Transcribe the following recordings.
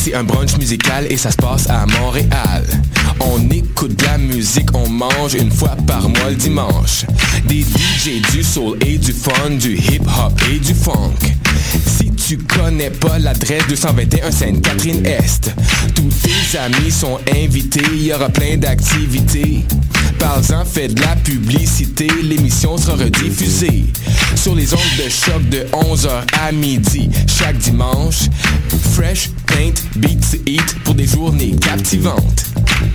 c'est un brunch musical et ça se passe à Montréal. On écoute de la musique, on mange une fois par mois le dimanche. Des DJ, du soul et du fun, du hip-hop et du funk. Si tu connais pas l'adresse 221 Sainte-Catherine-Est, tous tes amis sont invités, il y aura plein d'activités. Parle-en, fais de la publicité, l'émission sera rediffusée sur les ondes de choc de 11h à midi chaque dimanche. Fresh, paint, beat to eat pour des journées captivantes.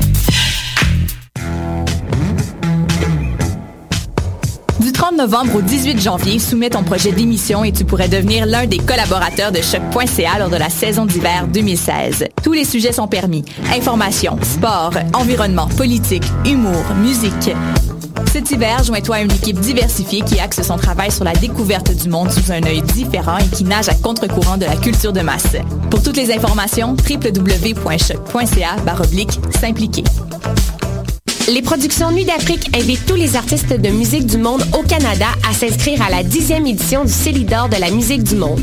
Du 30 novembre au 18 janvier, soumets ton projet d'émission et tu pourrais devenir l'un des collaborateurs de Choc.ca lors de la saison d'hiver 2016. Tous les sujets sont permis. Information, sport, environnement, politique, humour, musique. Cet hiver, joins-toi à une équipe diversifiée qui axe son travail sur la découverte du monde sous un œil différent et qui nage à contre-courant de la culture de masse. Pour toutes les informations, www.choc.ca/s'impliquer. Les productions Nuit d'Afrique invitent tous les artistes de musique du monde au Canada à s'inscrire à la 10e édition du Célidor de la musique du monde.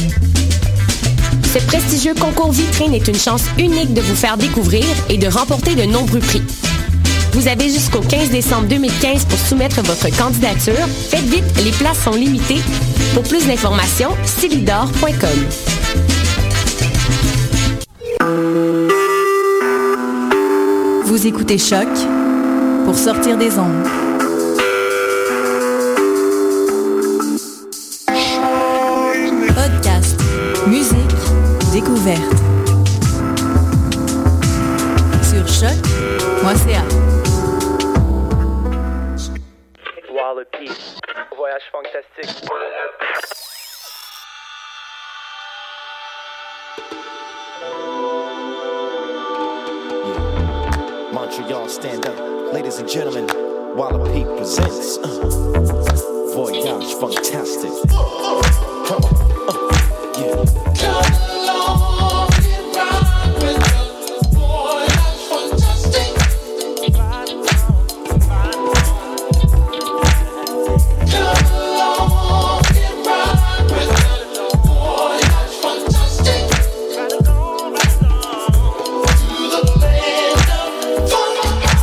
Ce prestigieux concours vitrine est une chance unique de vous faire découvrir et de remporter de nombreux prix. Vous avez jusqu'au 15 décembre 2015 pour soumettre votre candidature. Faites vite, les places sont limitées. Pour plus d'informations, célidor.com. Vous écoutez Choc pour sortir des ondes. Podcast, musique, découverte. Sur choc.ca. Wallopy, voyage fantastique. Montreal, stand up. Ladies and gentlemen, Wallopy presents Voyage Fantastic. Come on, yeah. Come along and ride with us. Voyage Fantastic. Come along and ride with us. Voyage Fantastic. To the land of fun.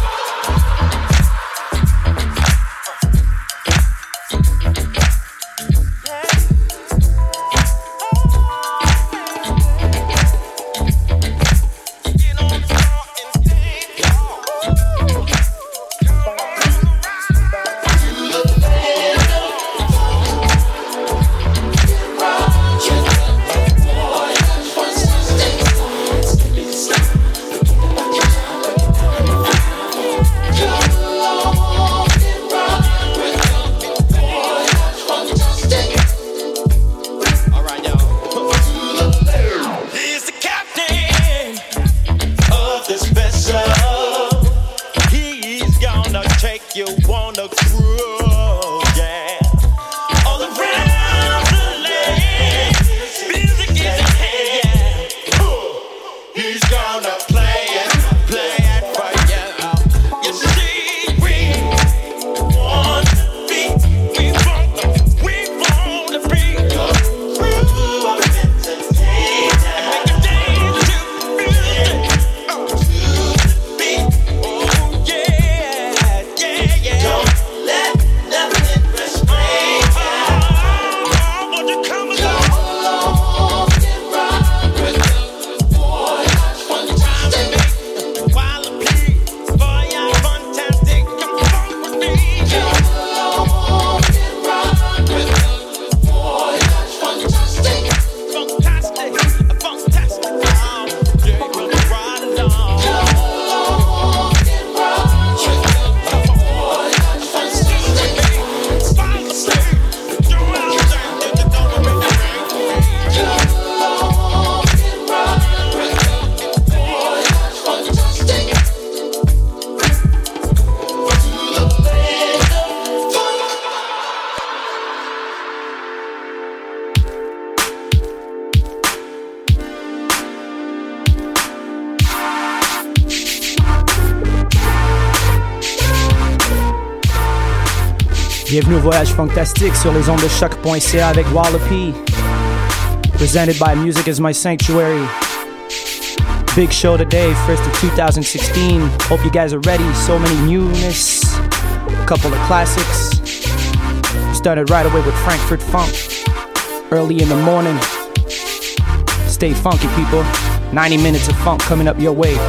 Bienvenue au Voyage Fantastique sur les ondes de choc.ca avec Wallopy. Presented by Music is My Sanctuary. Big show today, first of 2016. Hope you guys are ready. So many newness, a couple of classics. Started right away with Frankfurt Funk, early in the morning. Stay funky, people. 90 minutes of funk coming up your way.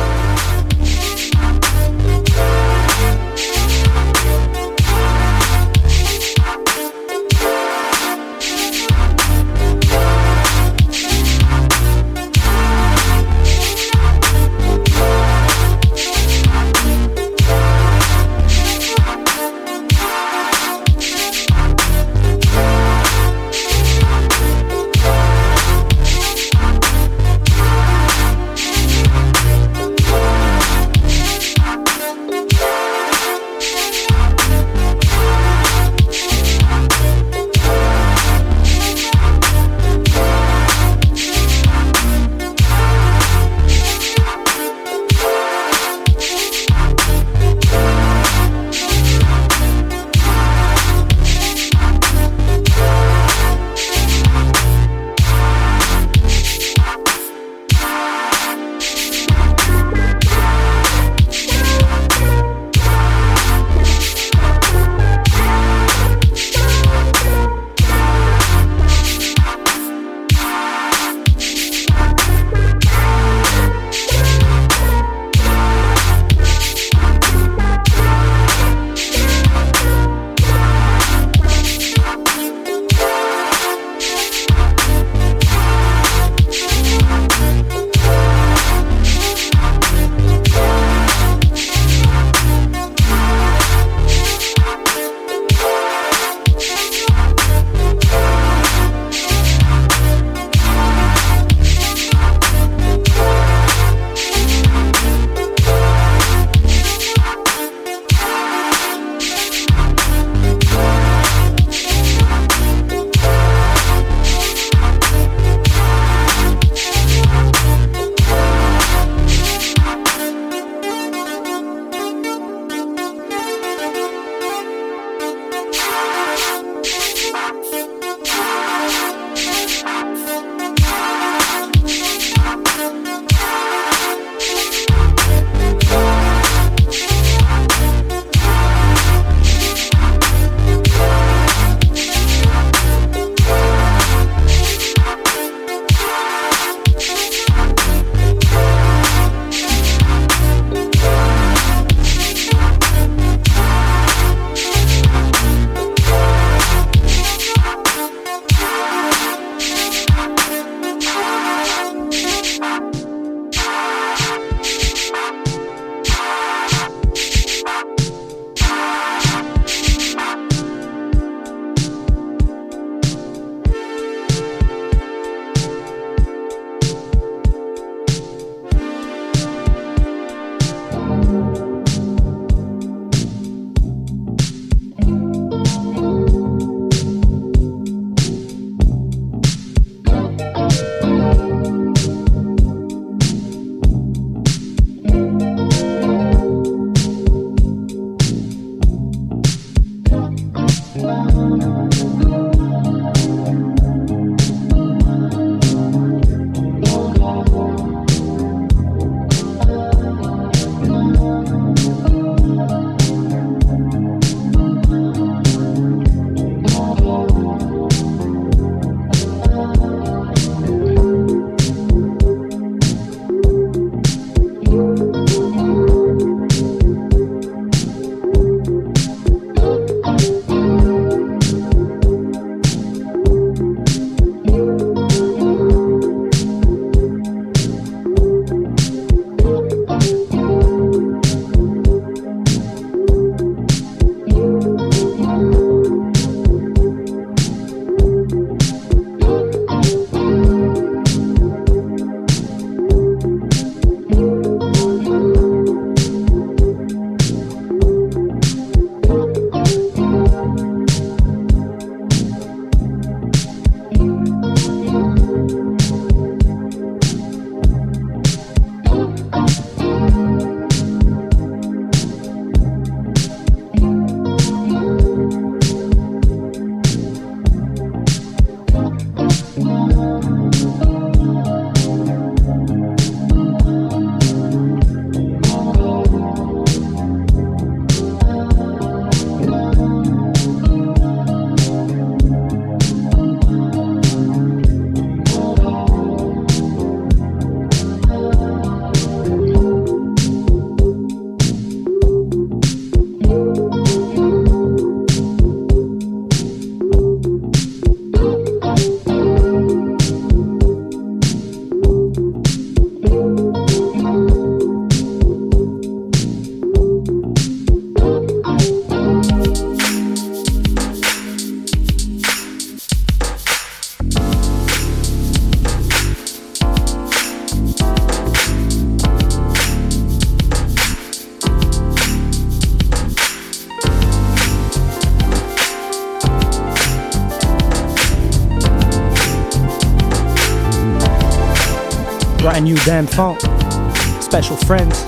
Brand new damn funk. Special friends.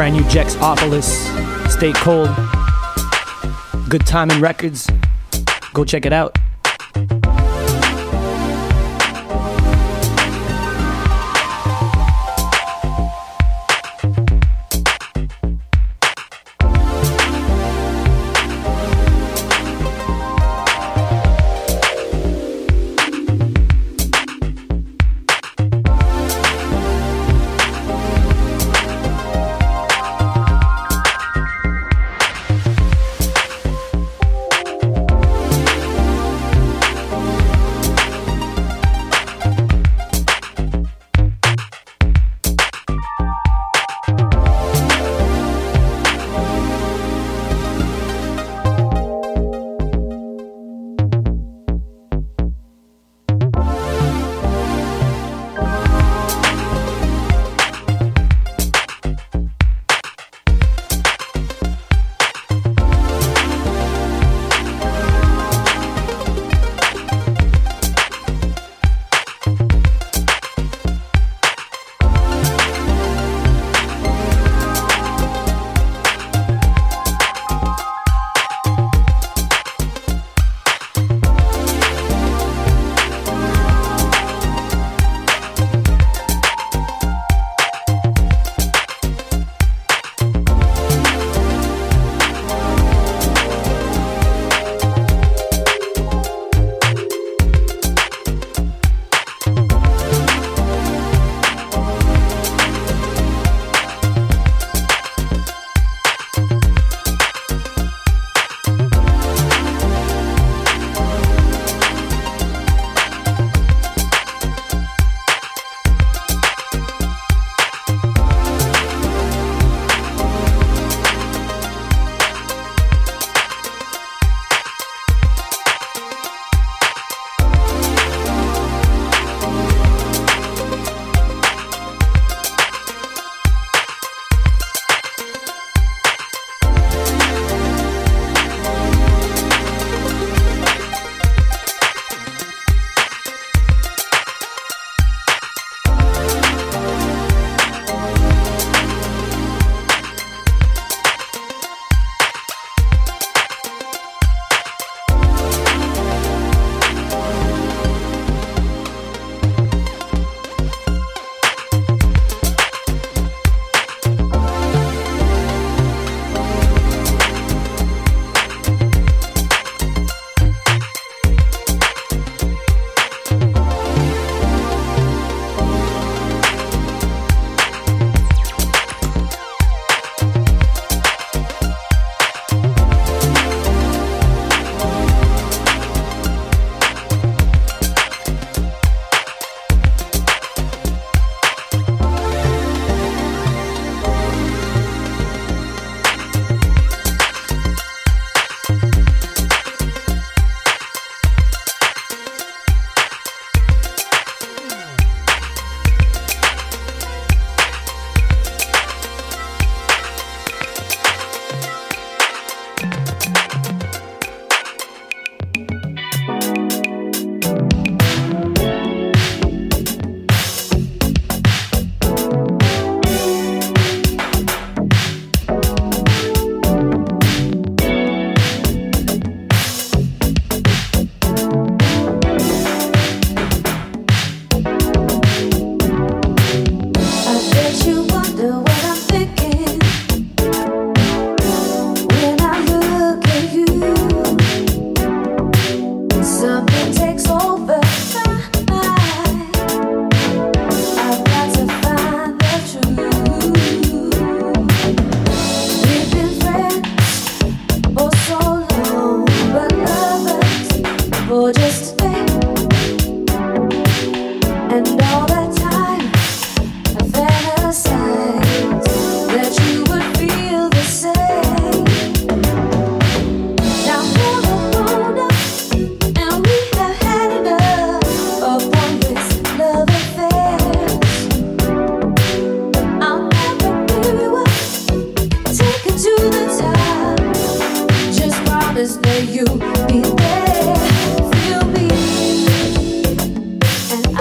brand new Jexopolis, Stay Cold. Good Timing Records. Go check it out.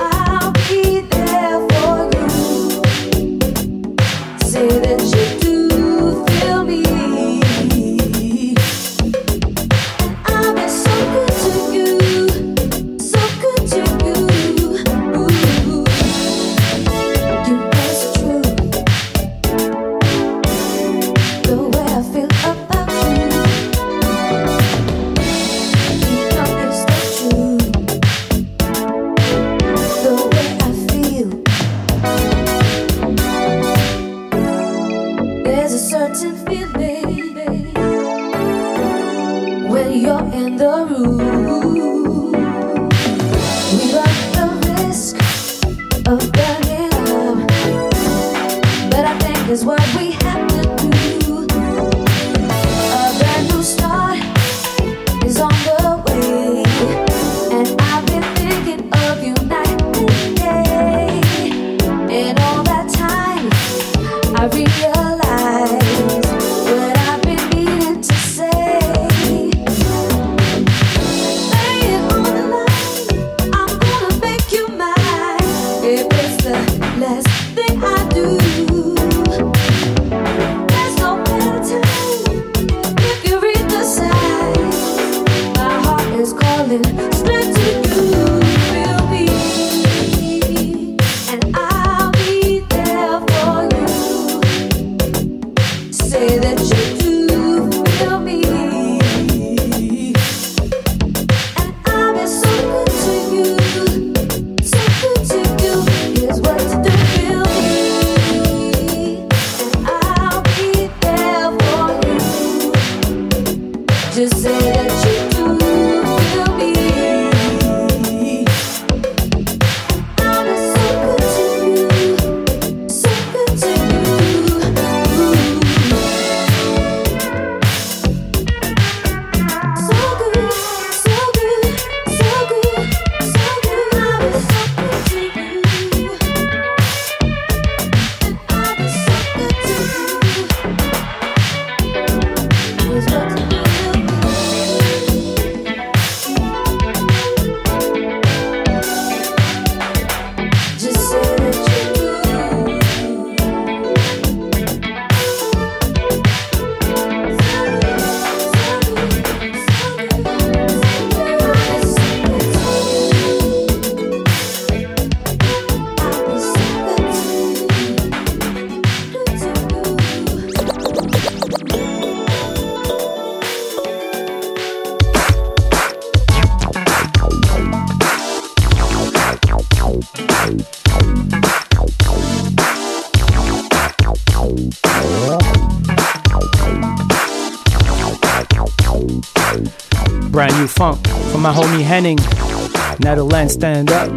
Say that you do. Brand new funk from my homie Henning. Netherlands, stand up.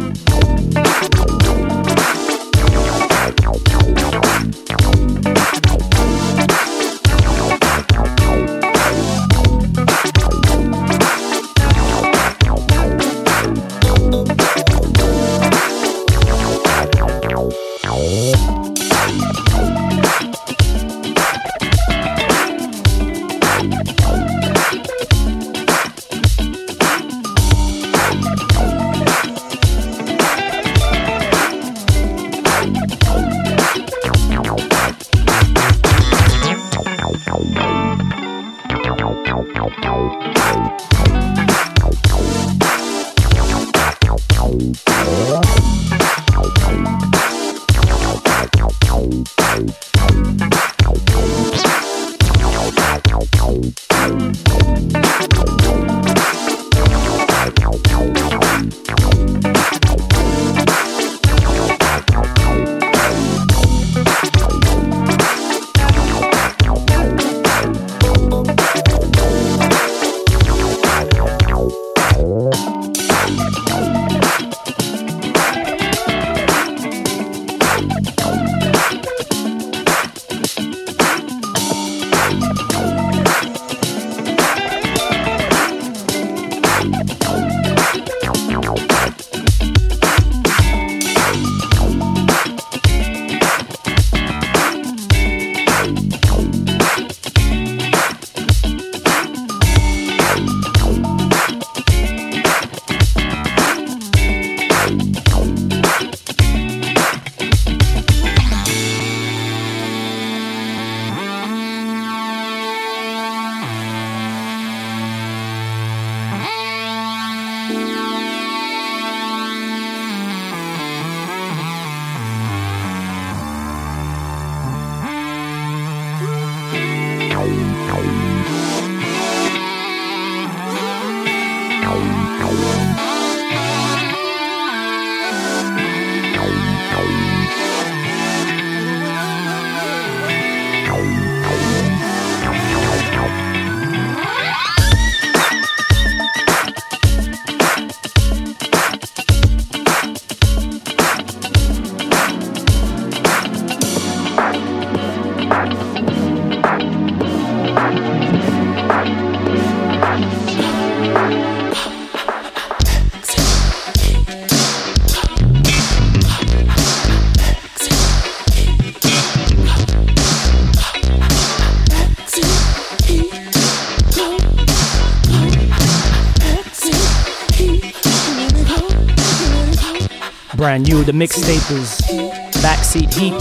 Brand new, the mixtape is Backseat Heat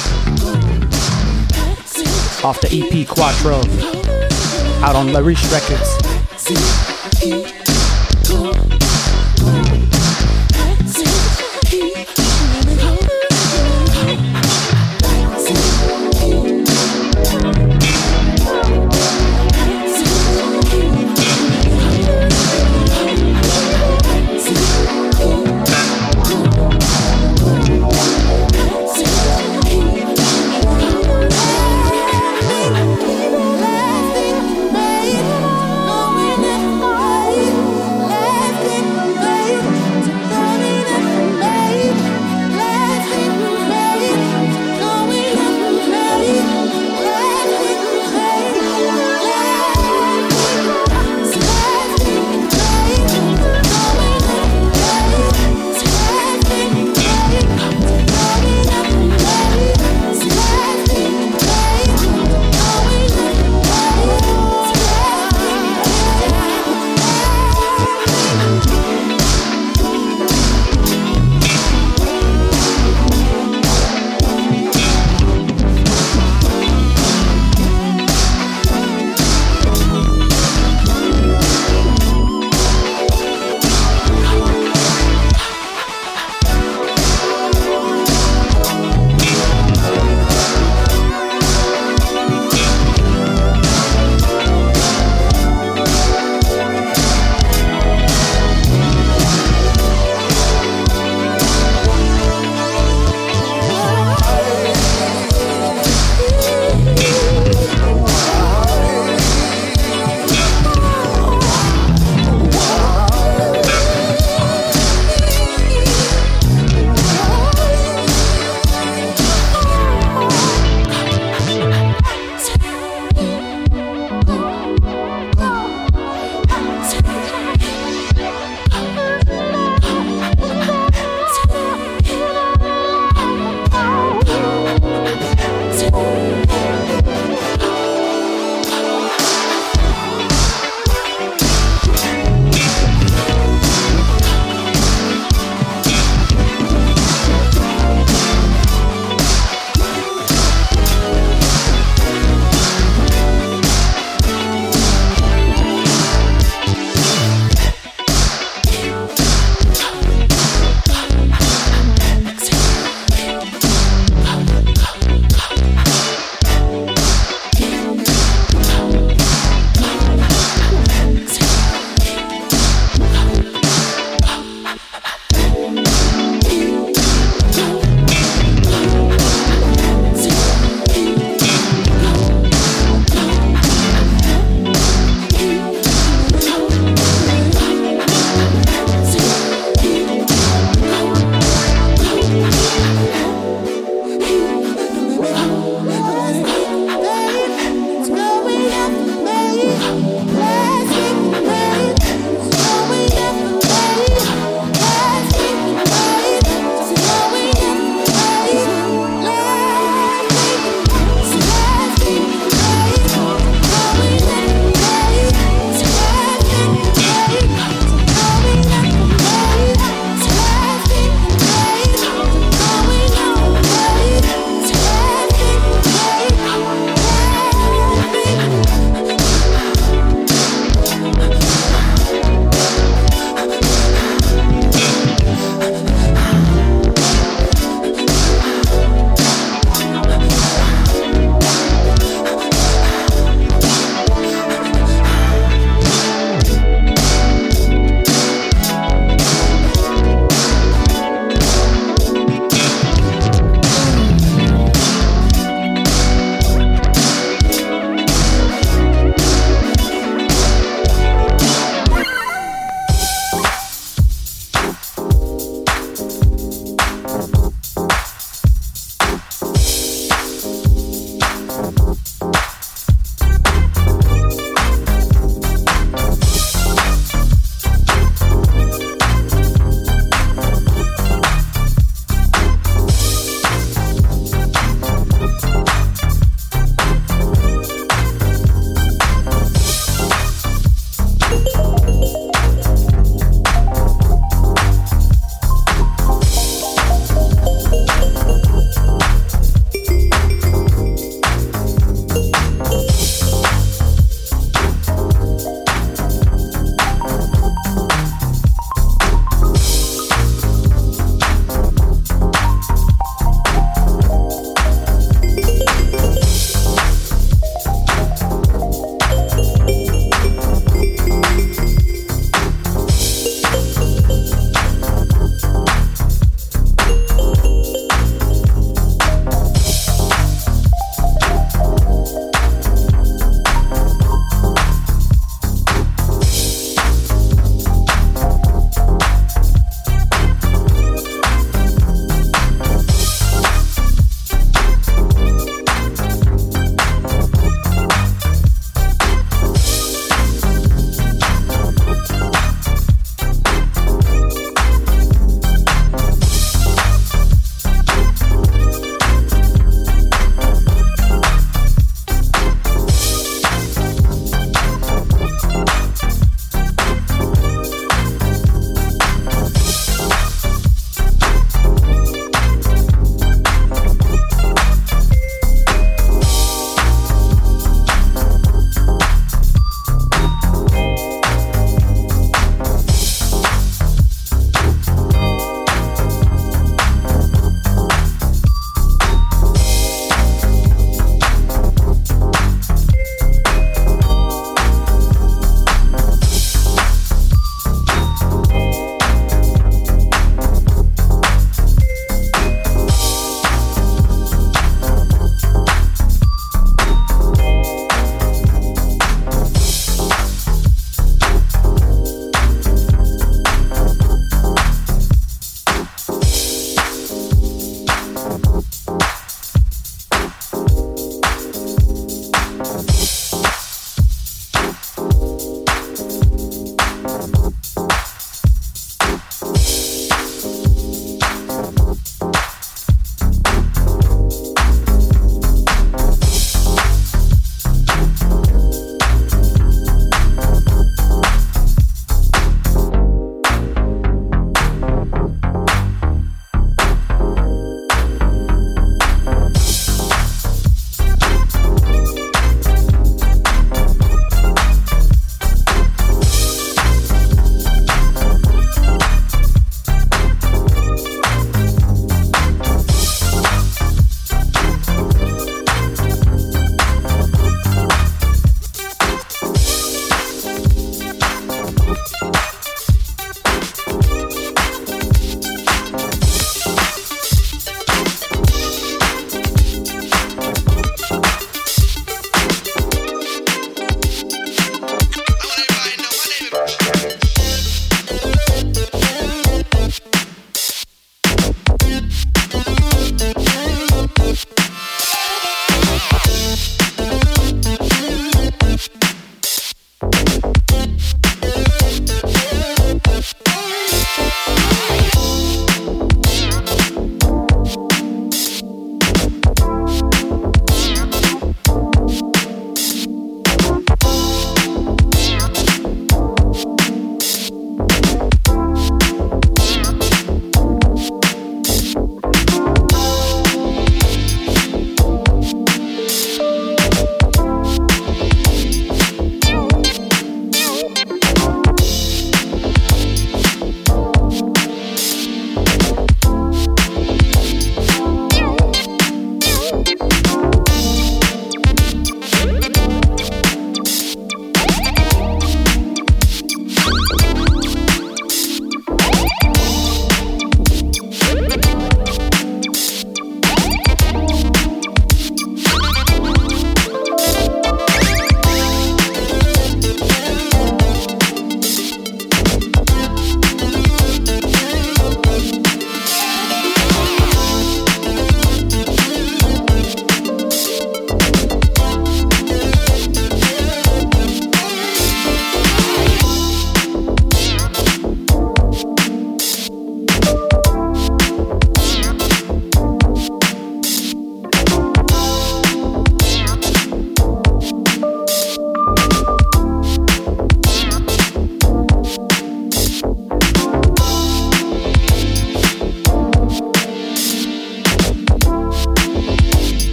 off the EP Quattro, out on La Riche Records. No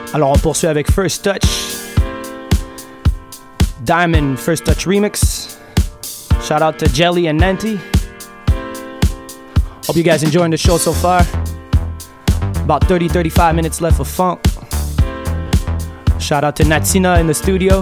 Alors on poursuit avec First Touch, Diamond First Touch Remix. Shout out to Jelly and Nanti. Hope you guys enjoying the show so far. About 30-35 minutes left of funk. Shout out to Natsina in the studio.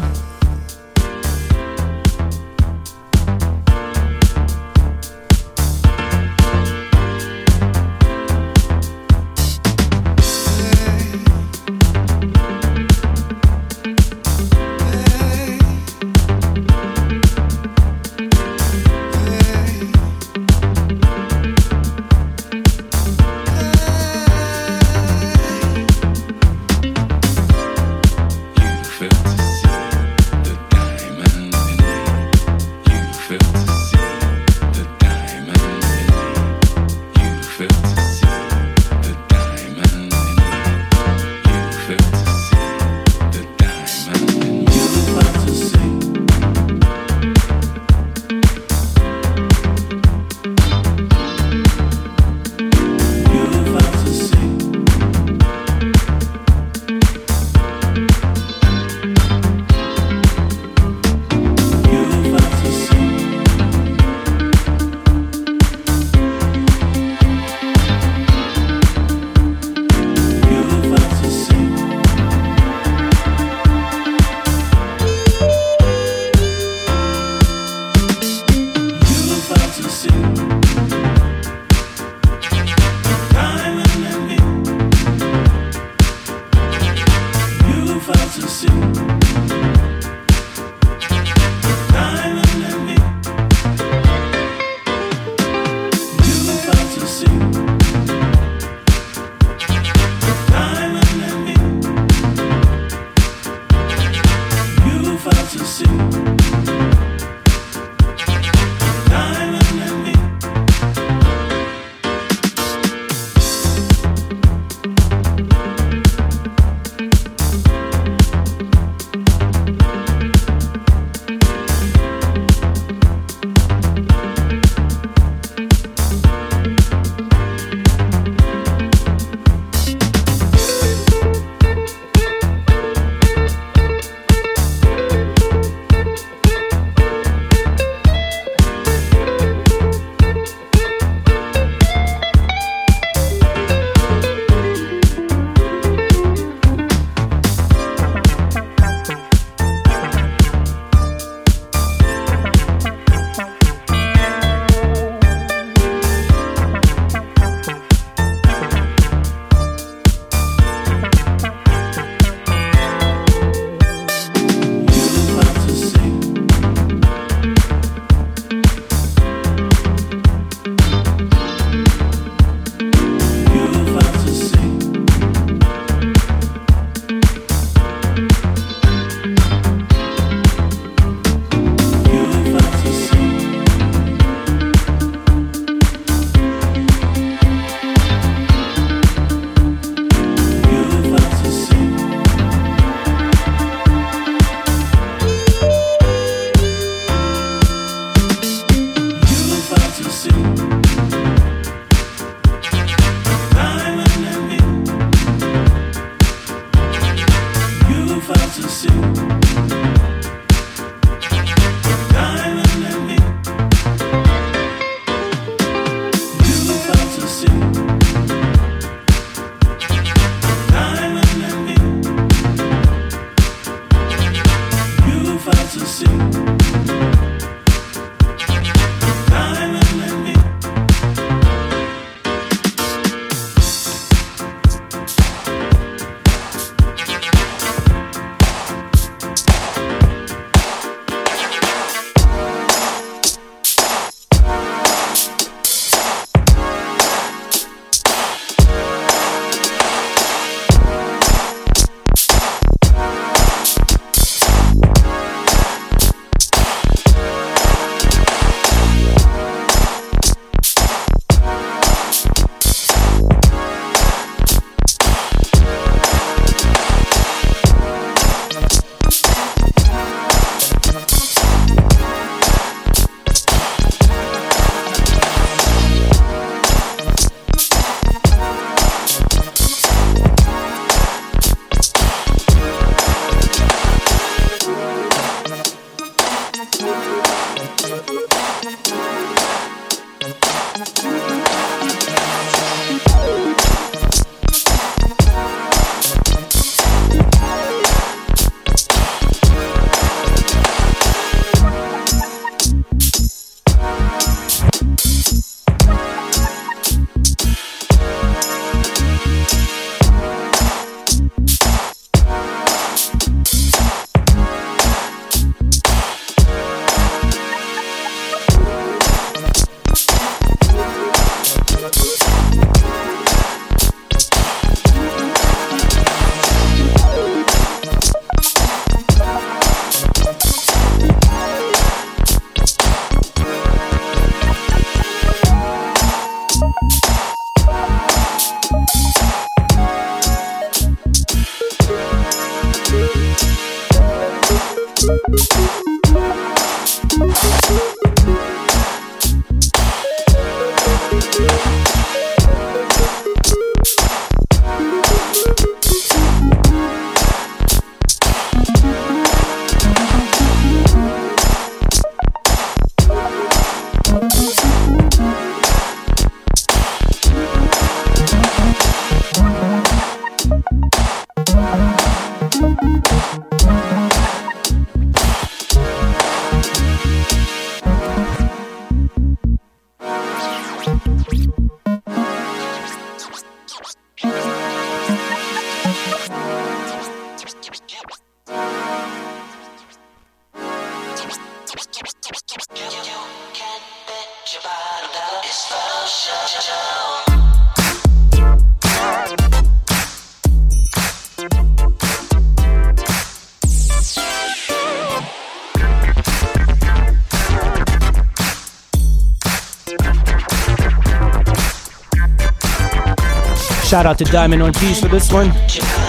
Shout out to Diamond Ortiz for this one.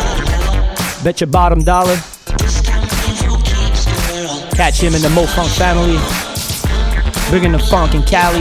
Bet your bottom dollar. Catch him in the Mo Funk family. Bringing the funk in Cali.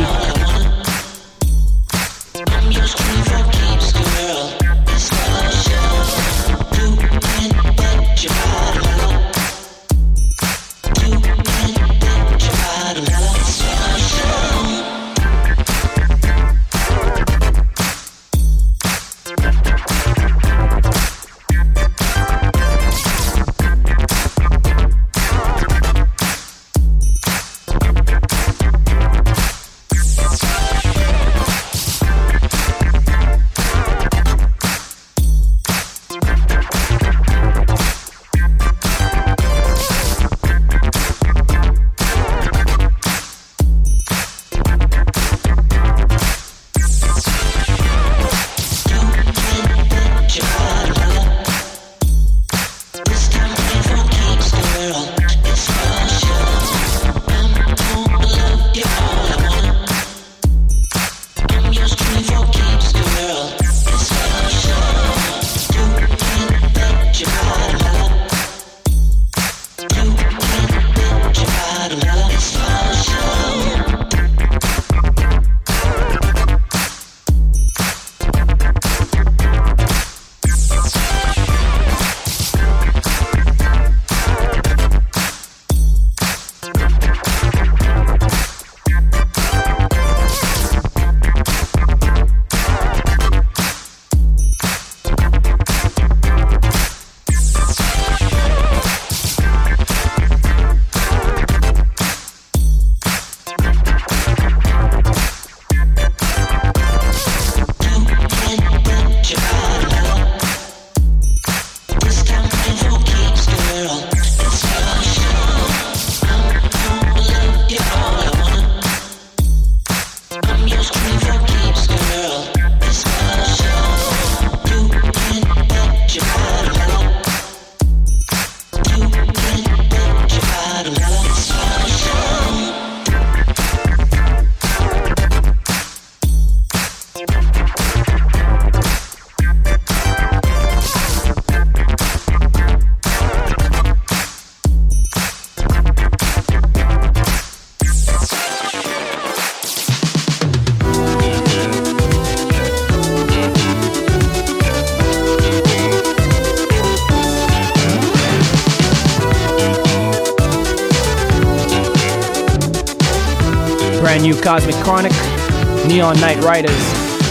brand new Cosmic Chronic, Neon Night Riders.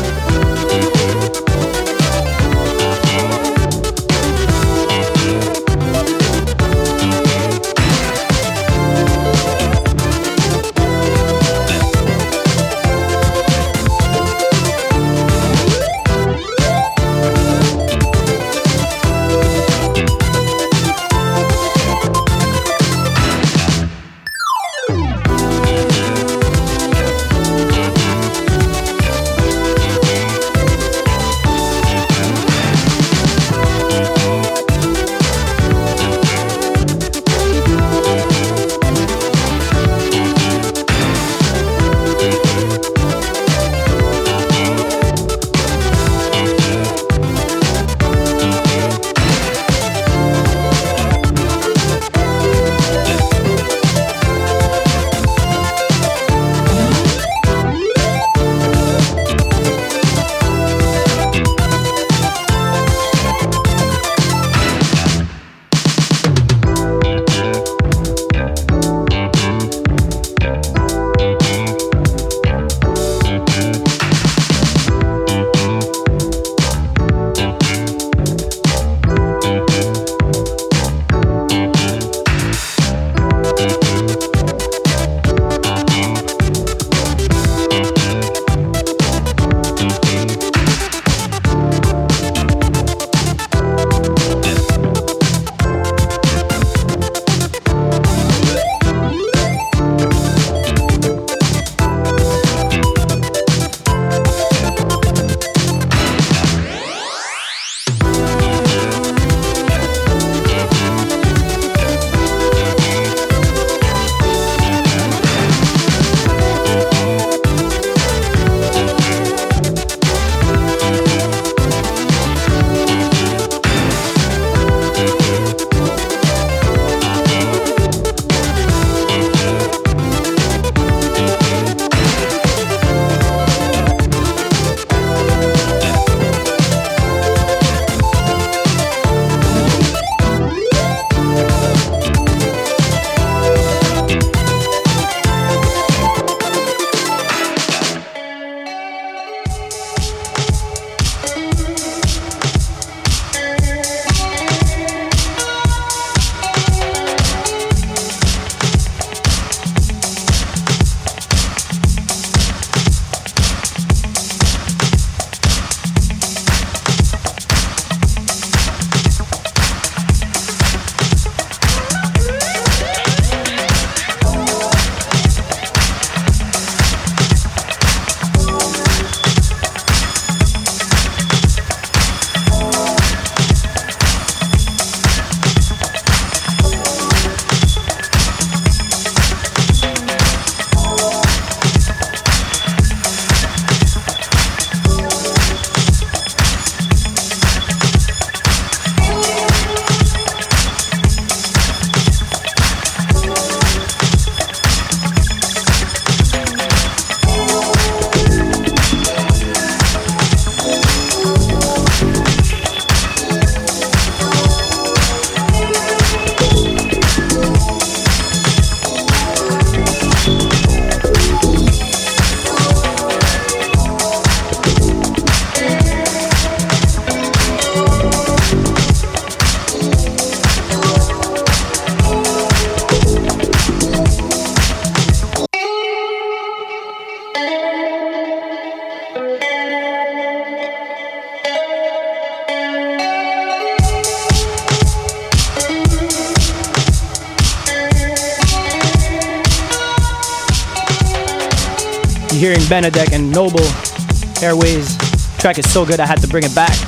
You're hearing Benedek and Noble Airways. The track is so good I had to bring it back.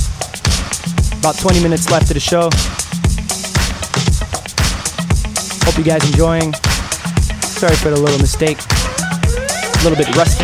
About 20 minutes left of the show. Hope you guys enjoying. Sorry for the little mistake. A little bit rusty.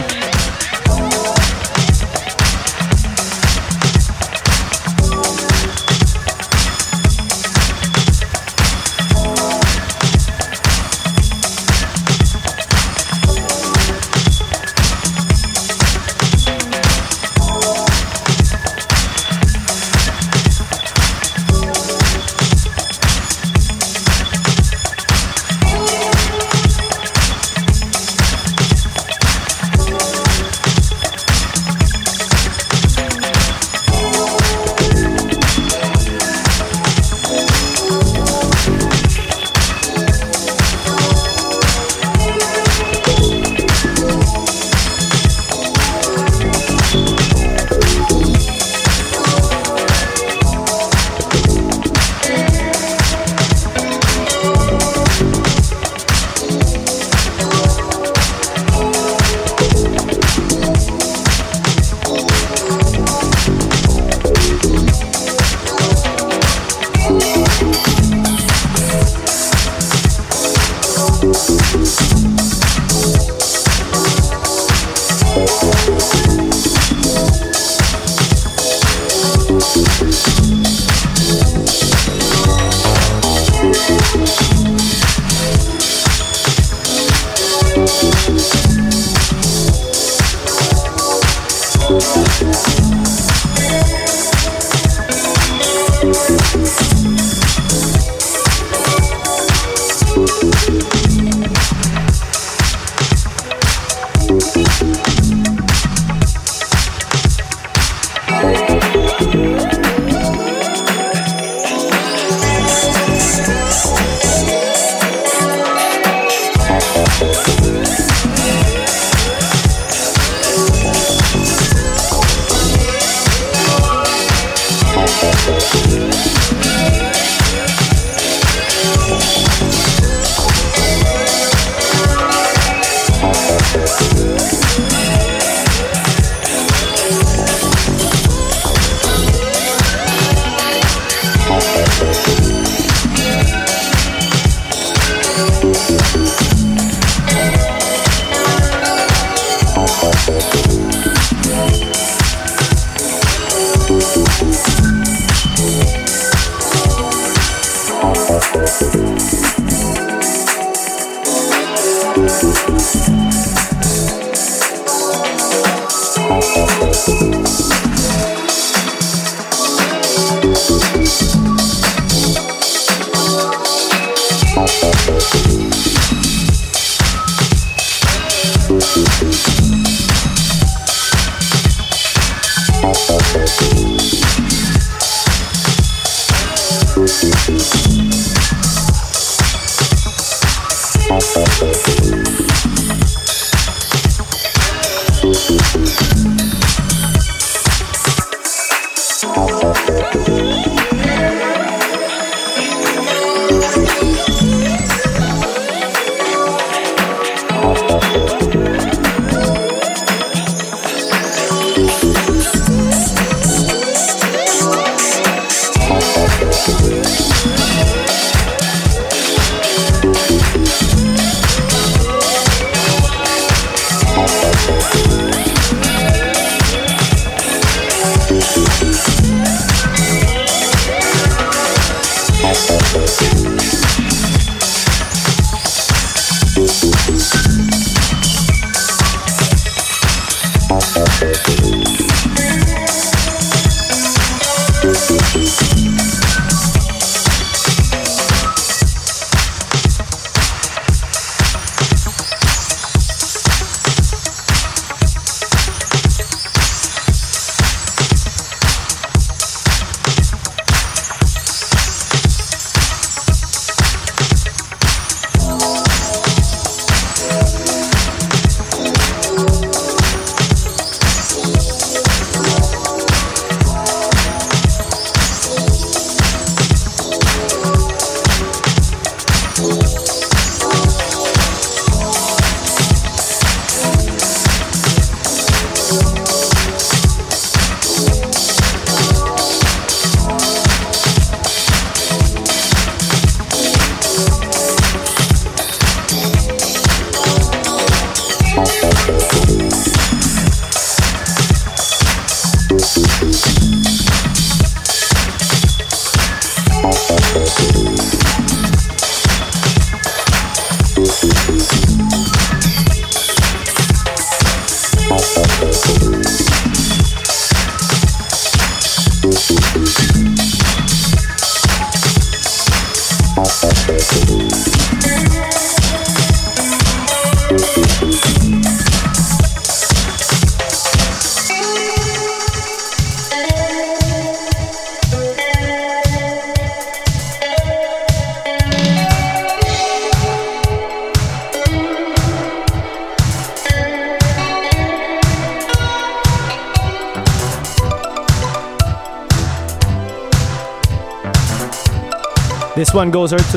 This one goes to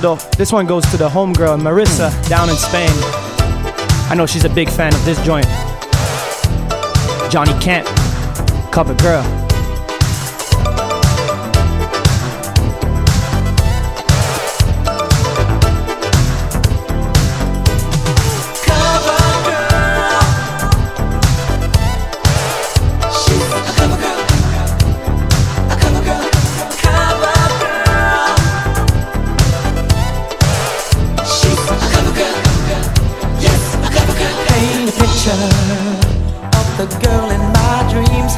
the homegirl Marissa down in Spain. I know she's a big fan of this joint. Johnny Kent, Cover Girl. Hey picture of the girl in my dreams.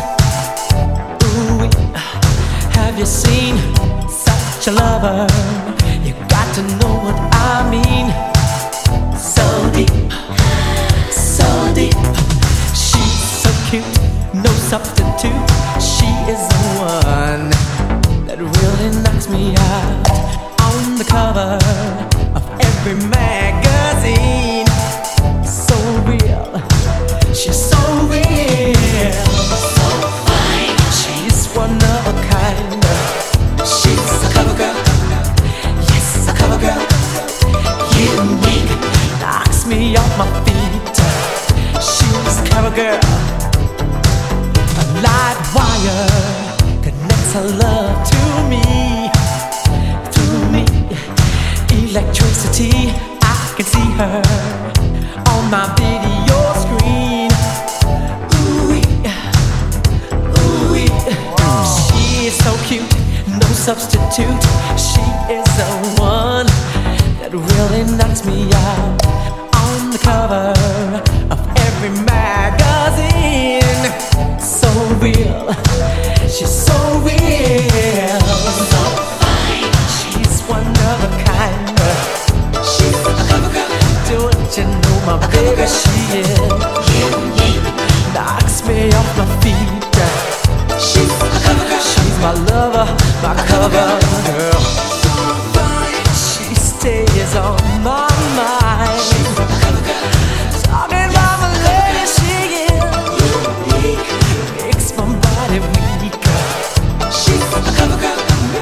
Ooh, have you seen such a lover? You got to know what I mean. So deep, so deep. She's so cute, no substitute. She is the one that really knocks me out. On the cover of every magazine. So real, she's so real. So fine, she's one of a kind. She's a cover girl, yes, a cover girl. Unique, knocks me off my feet. She's a cover girl. A live wire connects her love to me. Through me, electricity, I can see her on my video screen. Ooh-wee, ooh-wee. She is so cute, no substitute. She is the one that really knocks me out. On the cover of every magazine. So real, she's so real. So fine, she's one of a kind. She's a cover girl. Don't you know my baby? She is. Knocks me off my feet. She's a cover girl. She's my lover, my cover girl. She stays on my mind. She's a cover girl. Talking about my lady, she is unique. Makes my body weak. She's a cover girl.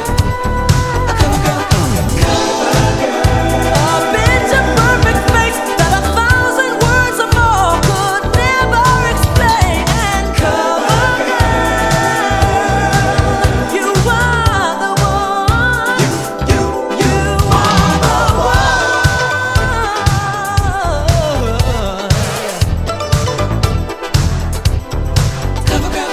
A cover girl. A cover girl. A picture perfect face that 1,000 words or more could never explain. And cover girl, you are the one. You are the one. Cover girl.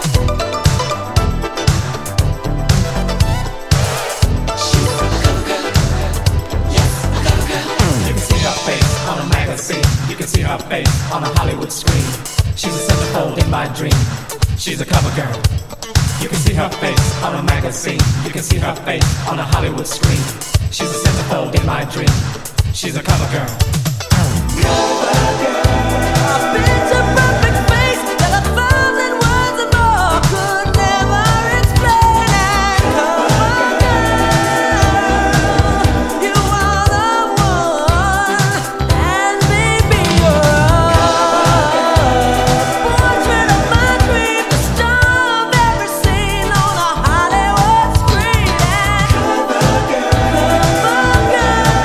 She's a cover girl. Yes, a cover girl. You can see her face on a magazine. You can see her face on a Hollywood screen. She's a centerfold in my dream. She's a cover girl. You can see her face on a magazine. You can see her face on a Hollywood screen. She's a centerfold in my dream. She's a cover girl. A picture perfect face that 1,000 words or more could never explain. And cover girl, you are the one. And baby, you're portrait of my dream, the star of every scene on a Hollywood screen. And cover girl,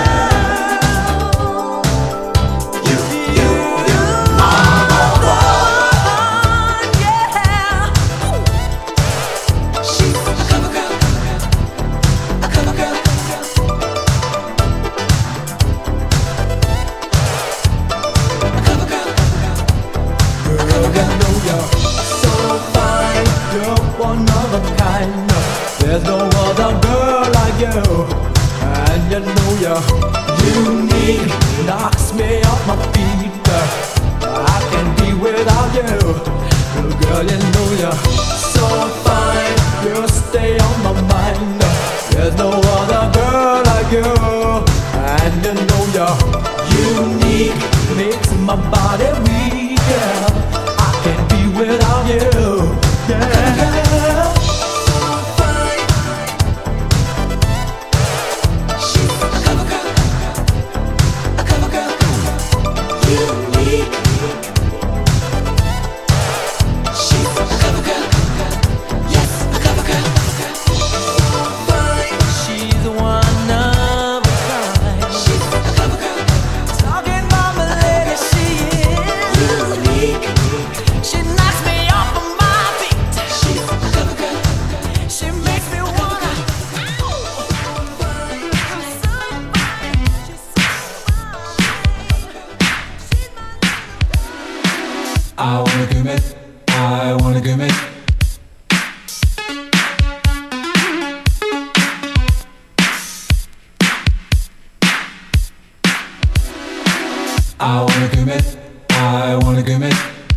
you are the one, yeah. She's a cover girl, a cover girl. A cover girl. Girl, you know you're so fine. You're one of a kind. There's no other girl like you. And you know you're unique. Knocks me off my feet. I can't be without you. Girl, you know you're so fine. You stay on my mind. There's no other girl like you. And you know you're unique. Makes my body weak. Yeah. I can't be without you. Yeah. So fine. She's a cover girl. A cover girl. Unique. She's a cover girl. Yes, a cover girl. Fine. She's one of a kind. She's a cover girl. Talking about my lady, she is unique. She knocks me off of my feet. She's a cover girl. She makes me wanna. Fine. She's so fine. She's so fine. I wanna commit. I wanna commit. I wanna commit. I I wanna commit.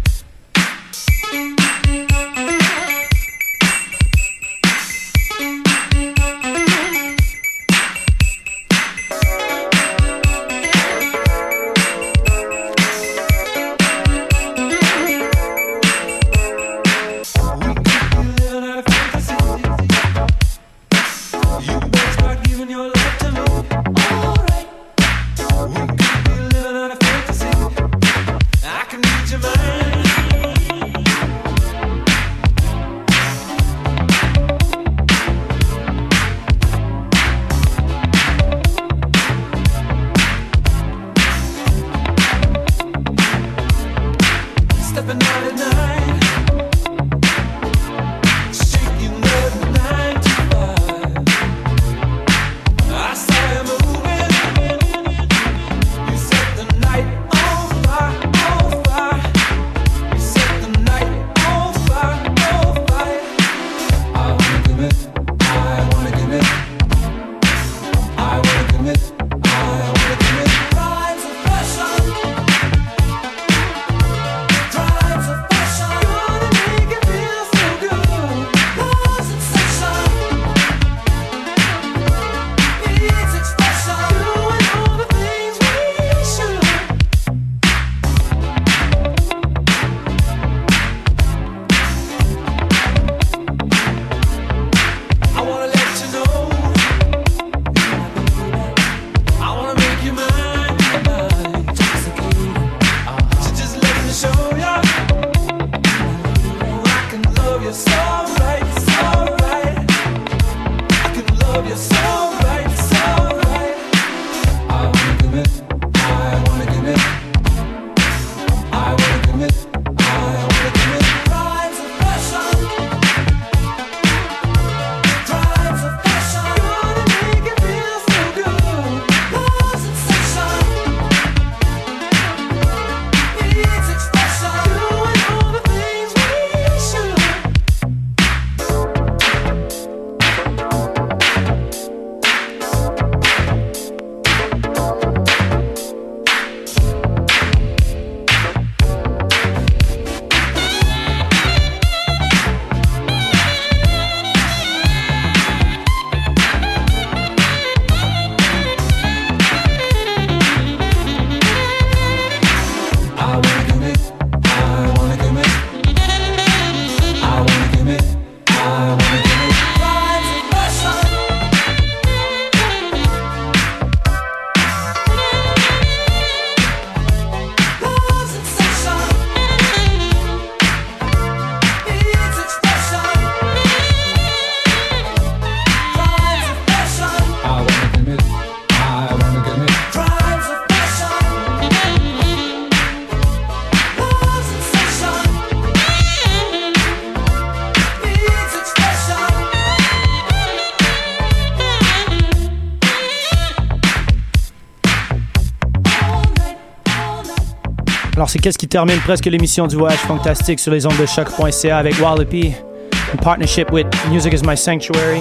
Alors c'est qu'est-ce qui termine presque l'émission du Voyage Fantastique sur les ondes de choc.ca avec Wallopy in partnership with Music is My Sanctuary.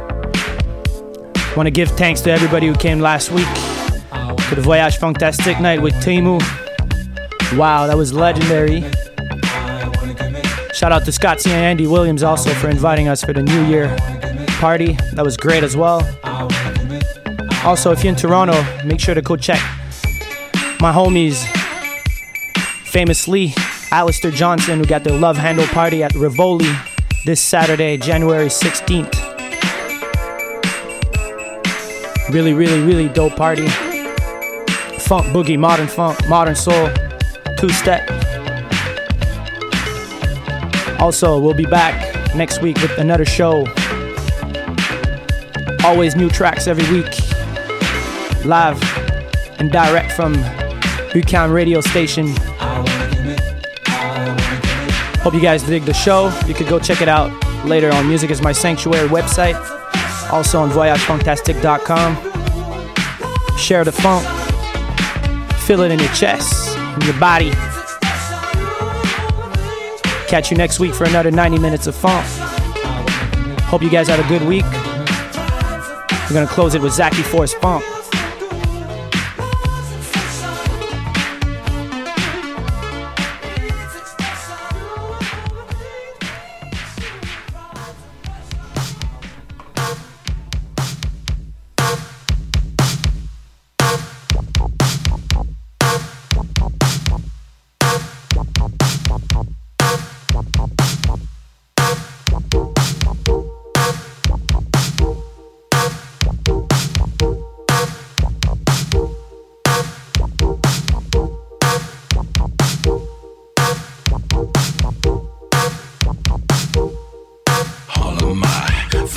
I want to give thanks to everybody who came last week to the Voyage Fantastique night with Temu. Wow, that was legendary. Shout out to Scotty and Andy Williams also for inviting us for the New Year party. That was great as well. Also, if you're in Toronto, make sure to go check my homies, famously Alistair Johnson, who got their Love Handle party at Rivoli this Saturday, January 16th. Really, really, really dope party. Funk, boogie, modern soul, two-step. Also, we'll be back next week with another show. Always new tracks every week. Live and direct from Buchan radio station. Hope you guys dig the show. You could go check it out later on Music is My Sanctuary website. Also on voyagefantastic.com. Share the funk. Feel it in your chest, in your body. Catch you next week for another 90 minutes of funk. Hope you guys had a good week. We're gonna close it with Zaki Force Funk.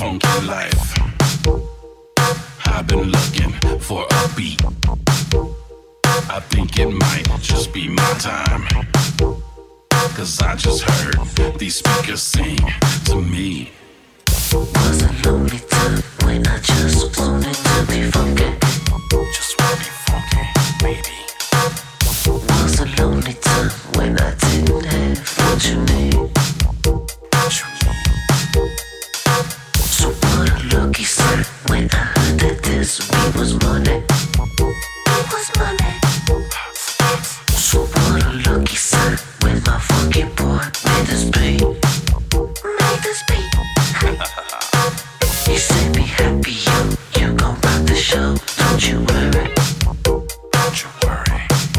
funky life. I've been looking for a beat. I think it might just be my time. Cause I just heard these speakers sing to me. Was a lonely time when I just wanted to be funky. Just wanna be funky, baby. Was a lonely time when I didn't have what you need. What you need. So what a lucky sight when I heard that this week was money. It was money. So what a lucky sight when my funky boy made this beat. Made this beat. He said be happy, you gon' rock the show. Don't you worry. Don't you worry.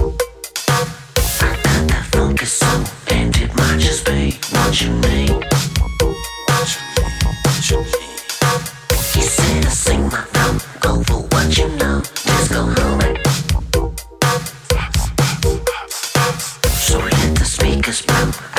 I got that funky soul, and it might just be what you need. What you need, what you need. He said to sing my note, go for what you know. Let's go home. So let the speakers blow.